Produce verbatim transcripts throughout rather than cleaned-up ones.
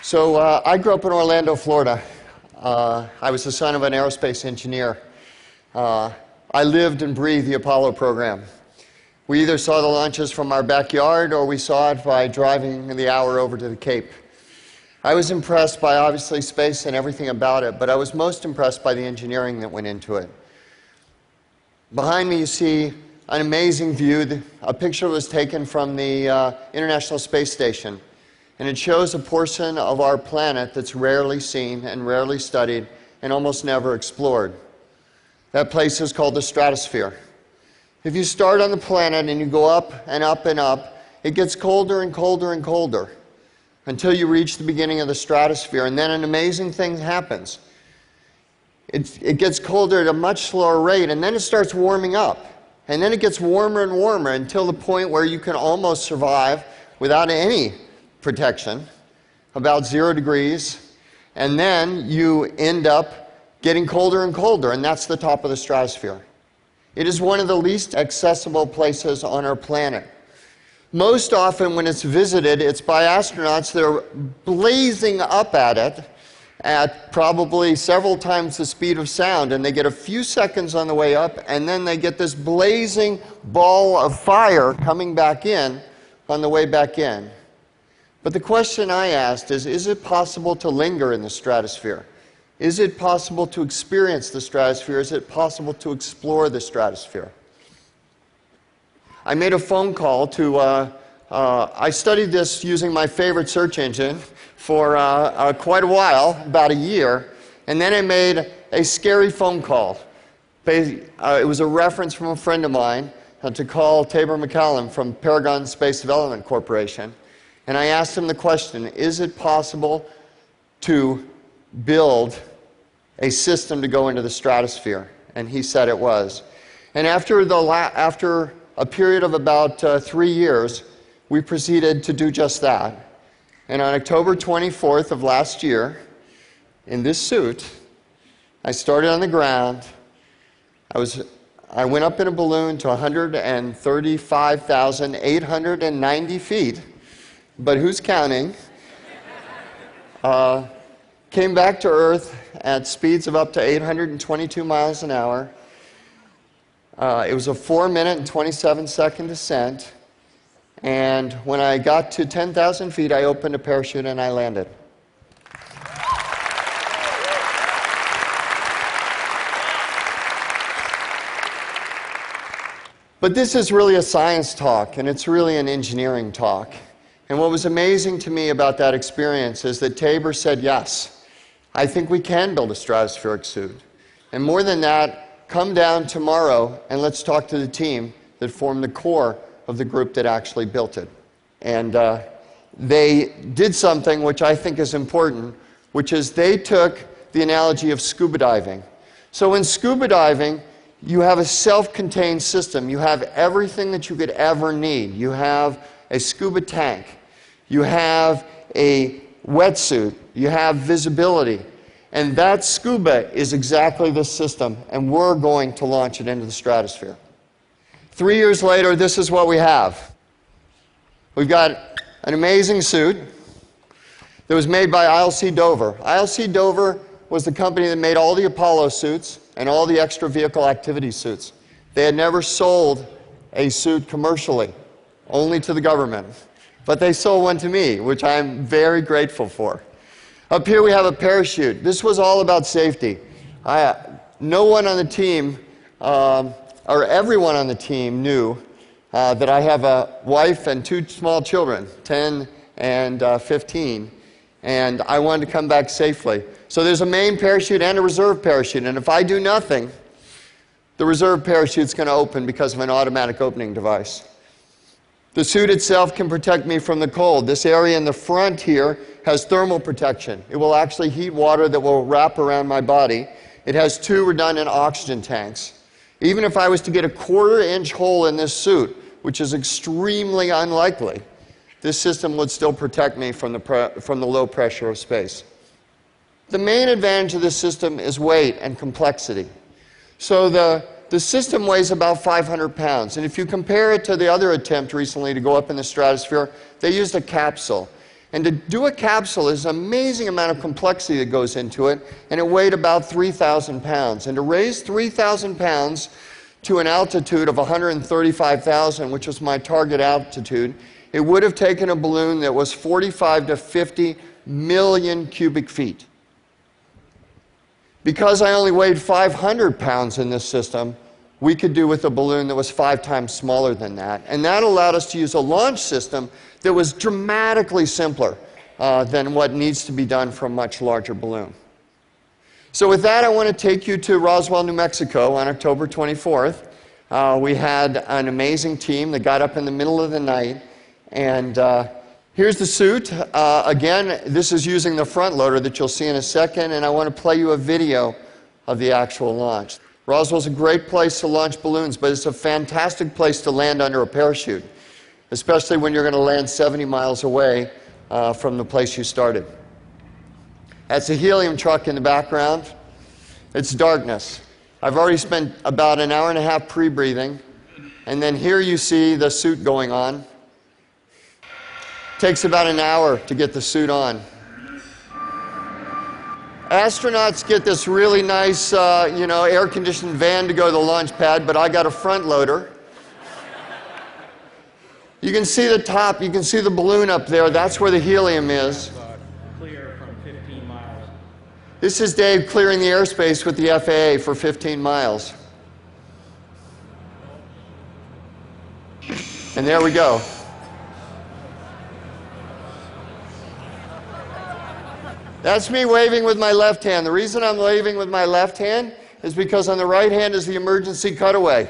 So uh, I grew up in Orlando, Florida. Uh, I was the son of an aerospace engineer. Uh, I lived and breathed the Apollo program. We either saw the launches from our backyard or we saw it by driving the hour over to the Cape. I was impressed by, obviously, space and everything about it, but I was most impressed by the engineering that went into it. Behind me you see an amazing view. A picture was taken from the uh, International Space Station, and it shows a portion of our planet that's rarely seen and rarely studied and almost never explored. That place is called the stratosphere. If you start on the planet and you go up and up and up, it gets colder and colder and colder until you reach the beginning of the stratosphere, and then an amazing thing happens. It, it gets colder at a much slower rate, and then it starts warming up. And then it gets warmer and warmer until the point where you can almost survive without any protection, about zero degrees, and then you end up getting colder and colder, and that's the top of the stratosphere. It is one of the least accessible places on our planet. Most often when it's visited, it's by astronauts that are blazing up at it at probably several times the speed of sound, and they get a few seconds on the way up, and then they get this blazing ball of fire coming back in on the way back in. But the question I asked is, is it possible to linger in the stratosphere? Is it possible to experience the stratosphere? Is it possible to explore the stratosphere? I made a phone call to, uh, uh, I studied this using my favorite search engine for uh, uh, quite a while, about a year, and then I made a scary phone call. Uh, it was a reference from a friend of mine uh, to call Tabor MacCallum from Paragon Space Development Corporation. And I asked him the question, is it possible to build a system to go into the stratosphere? And he said it was. And after, the la after a period of about uh, three years, we proceeded to do just that. And on October twenty-fourth of last year, in this suit, I started on the ground. I, was, I went up in a balloon to one hundred thirty-five thousand eight hundred ninety feet. But who's counting? Uh, came back to Earth at speeds of up to eight hundred twenty-two miles an hour. Uh, it was a four minute and twenty-seven second descent. And when I got to ten thousand feet, I opened a parachute and I landed. But this is really a science talk, and it's really an engineering talk. And what was amazing to me about that experience is that Tabor said, yes, I think we can build a stratospheric suit. And more than that, come down tomorrow and let's talk to the team that formed the core of the group that actually built it. And uh, they did something which I think is important, which is they took the analogy of scuba diving. So in scuba diving, you have a self-contained system. You have everything that you could ever need. You have a scuba tank. You have a wetsuit. You have visibility. And that scuba is exactly this system, and we're going to launch it into the stratosphere. Three years later, this is what we have. We've got an amazing suit that was made by I L C Dover. I L C Dover was the company that made all the Apollo suits and all the extra vehicle activity suits. They had never sold a suit commercially, only to the government. But they sold one to me, which I'm very grateful for. Up here we have a parachute. This was all about safety. I, no one on the team, um, or everyone on the team knew uh, that I have a wife and two small children, ten and uh, fifteen, and I wanted to come back safely. So there's a main parachute and a reserve parachute, and if I do nothing, the reserve parachute's going to open because of an automatic opening device. The suit itself can protect me from the cold. This area in the front here has thermal protection. It will actually heat water that will wrap around my body. It has two redundant oxygen tanks. Even if I was to get a quarter inch hole in this suit, which is extremely unlikely, this system would still protect me from the, pre from the low pressure of space. The main advantage of this system is weight and complexity. So the, the system weighs about five hundred pounds. And if you compare it to the other attempt recently to go up in the stratosphere, they used a capsule. And to do a capsule is an amazing amount of complexity that goes into it, and it weighed about three thousand pounds. And to raise three thousand pounds to an altitude of one hundred thirty-five thousand, which was my target altitude, it would have taken a balloon that was forty-five to fifty million cubic feet. Because I only weighed five hundred pounds in this system, we could do with a balloon that was five times smaller than that. And that allowed us to use a launch system that was dramatically simpler uh, than what needs to be done for a much larger balloon. So with that, I want to take you to Roswell, New Mexico on October twenty-fourth. Uh, we had an amazing team that got up in the middle of the night. And uh, here's the suit. Uh, again, this is using the front loader that you'll see in a second. And I want to play you a video of the actual launch. Roswell's a great place to launch balloons, but it's a fantastic place to land under a parachute, especially when you're going to land seventy miles away uh, from the place you started. That's a helium truck in the background. It's darkness. I've already spent about an hour and a half pre-breathing, and then here you see the suit going on. Takes about an hour to get the suit on. Astronauts get this really nice, uh, you know, air-conditioned van to go to the launch pad, but I got a front loader. You can see the top, you can see the balloon up there. That's where the helium is. Clear from fifteen miles. This is Dave clearing the airspace with the F A A for fifteen miles. And there we go. That's me waving with my left hand. The reason I'm waving with my left hand is because on the right hand is the emergency cutaway.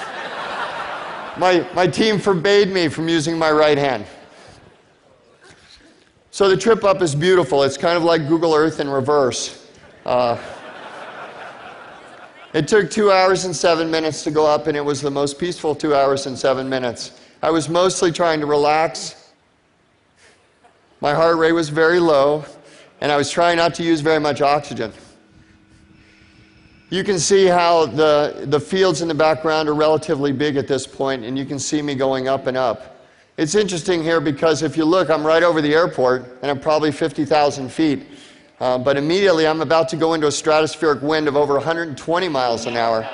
My, my team forbade me from using my right hand. So the trip up is beautiful. It's kind of like Google Earth in reverse. Uh, it took two hours and seven minutes to go up, and it was the most peaceful two hours and seven minutes. I was mostly trying to relax. My heart rate was very low, and I was trying not to use very much oxygen. You can see how the, the fields in the background are relatively big at this point, and you can see me going up and up. It's interesting here because if you look, I'm right over the airport, and I'm probably fifty thousand feet. Uh, but immediately, I'm about to go into a stratospheric wind of over one hundred twenty miles an hour.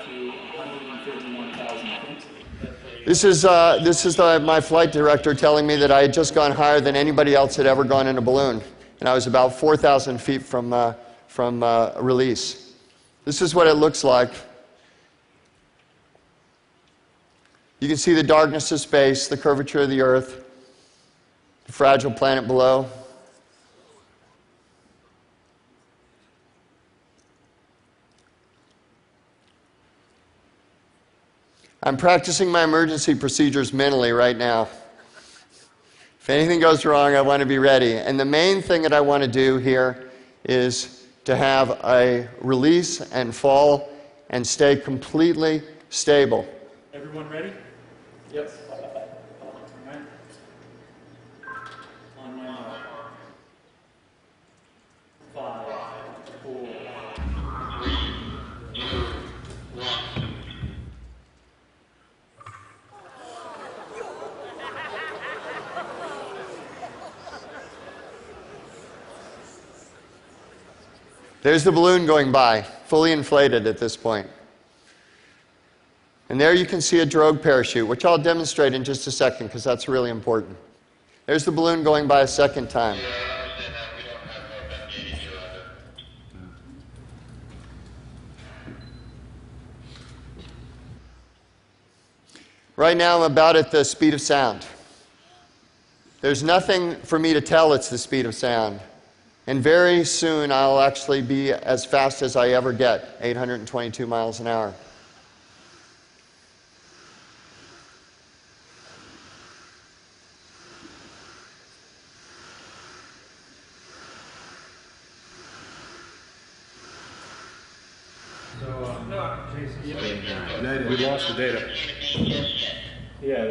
This is, uh, this is the, my flight director telling me that I had just gone higher than anybody else had ever gone in a balloon. And I was about four thousand feet from, uh, from uh, release. This is what it looks like. You can see the darkness of space, the curvature of the Earth, the fragile planet below. I'm practicing my emergency procedures mentally right now. If anything goes wrong, I want to be ready. And the main thing that I want to do here is to have a release and fall and stay completely stable. Everyone ready? Yes. Right. On my mark. Five, four, three, two, one. There's the balloon going by, fully inflated at this point. And there you can see a drogue parachute, which I'll demonstrate in just a second because that's really important. There's the balloon going by a second time. Right now I'm about at the speed of sound. There's nothing for me to tell it's the speed of sound. And very soon I'll actually be as fast as I ever get, eight hundred twenty-two miles an hour. So, um, no, Jason, Yeah. We lost the data. yeah.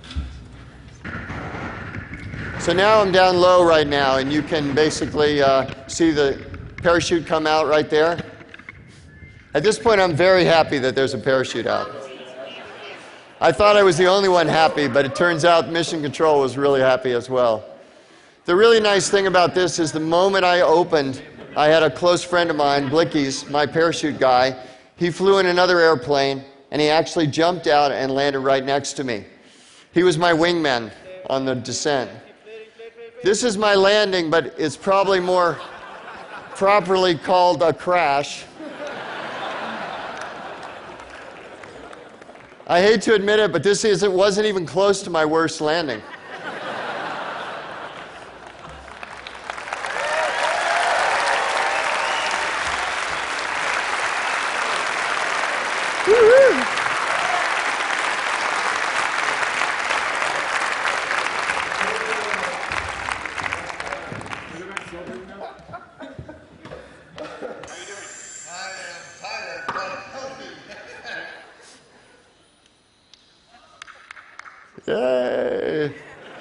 So now I'm down low right now, and you can basically uh, see the parachute come out right there. At this point, I'm very happy that there's a parachute out. I thought I was the only one happy, but it turns out Mission Control was really happy as well. The really nice thing about this is the moment I opened, I had a close friend of mine, Blickies, my parachute guy. He flew in another airplane, and he actually jumped out and landed right next to me. He was my wingman on the descent. This is my landing, but it's probably more properly called a crash. I hate to admit it, but this is, it wasn't even close to my worst landing. Woo-hoo. Yay.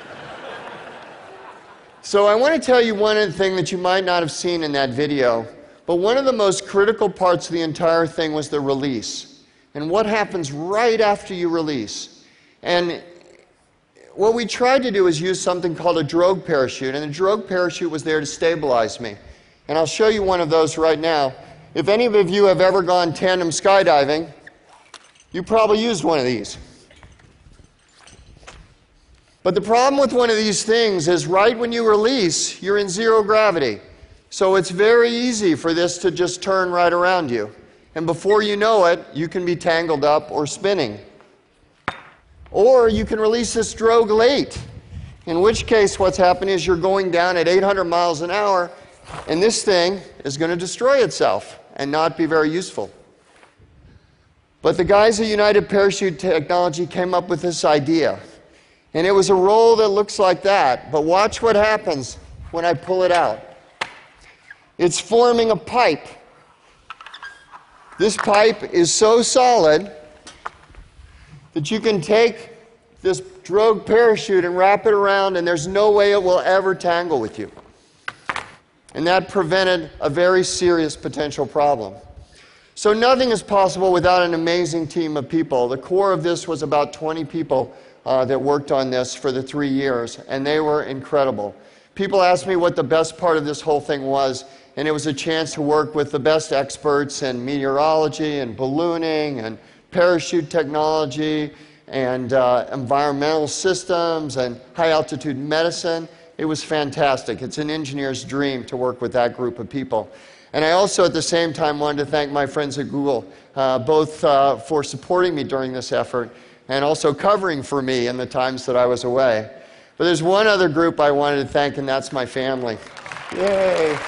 So I want to tell you one other thing that you might not have seen in that video, but one of the most critical parts of the entire thing was the release, and what happens right after you release. And what we tried to do is use something called a drogue parachute, and the drogue parachute was there to stabilize me. And I'll show you one of those right now. If any of you have ever gone tandem skydiving, you probably used one of these. But the problem with one of these things is right when you release, you're in zero gravity. So it's very easy for this to just turn right around you. And before you know it, you can be tangled up or spinning. Or you can release this drogue late, in which case what's happening is you're going down at eight hundred miles an hour, and this thing is going to destroy itself and not be very useful. But the guys at United Parachute Technology came up with this idea. And it was a roll that looks like that, but watch what happens when I pull it out. It's forming a pipe. This pipe is so solid that you can take this drogue parachute and wrap it around, and there's no way it will ever tangle with you. And that prevented a very serious potential problem. So nothing is possible without an amazing team of people. The core of this was about twenty people Uh, that worked on this for the three years, and they were incredible. People asked me what the best part of this whole thing was, and it was a chance to work with the best experts in meteorology and ballooning and parachute technology and uh, environmental systems and high-altitude medicine. It was fantastic. It's an engineer's dream to work with that group of people. And I also, at the same time, wanted to thank my friends at Google, uh, both uh, for supporting me during this effort and also covering for me in the times that I was away. But there's one other group I wanted to thank, and that's my family. Yay!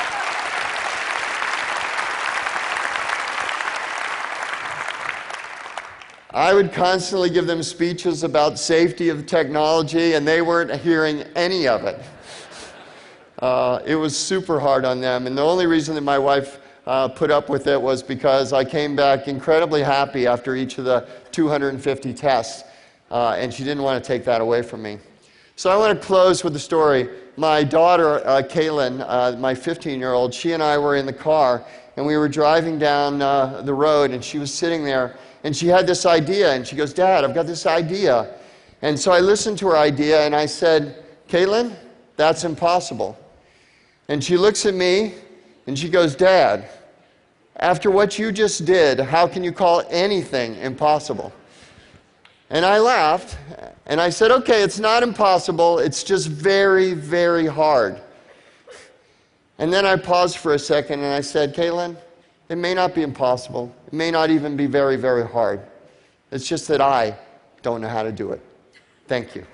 I would constantly give them speeches about safety of technology, and they weren't hearing any of it. Uh, it was super hard on them, and the only reason that my wife Uh, put up with it was because I came back incredibly happy after each of the two hundred fifty tests, uh, and she didn't want to take that away from me. So I want to close with a story. My daughter, uh, Kaylin, uh, my fifteen-year-old, she and I were in the car, and we were driving down uh, the road, and she was sitting there, and she had this idea, and she goes, "Dad, I've got this idea." And so I listened to her idea, and I said, "Kaylin, that's impossible." And she looks at me, and she goes, "Dad, after what you just did, how can you call anything impossible?" And I laughed, and I said, "Okay, it's not impossible, it's just very, very hard." And then I paused for a second, and I said, "Kaylin, it may not be impossible, it may not even be very, very hard. It's just that I don't know how to do it." Thank you.